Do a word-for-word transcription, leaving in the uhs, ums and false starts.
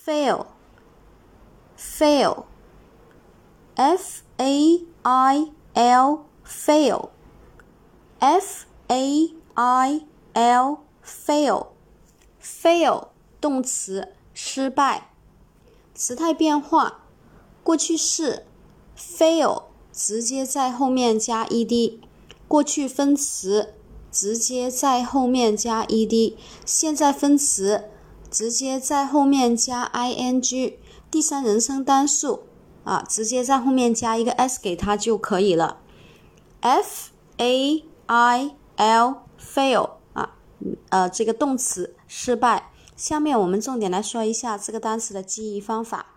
fail fail F A I L fail F A I L fail fail 动词失败。时态变化，过去式 fail 直接在后面加 ed， 过去分词直接在后面加 ed， 现在分词直接在后面加 ing， 第三人称单数啊，直接在后面加一个 s 给它就可以了。F A I L fail 啊，呃，这个动词失败。下面我们重点来说一下这个单词的记忆方法。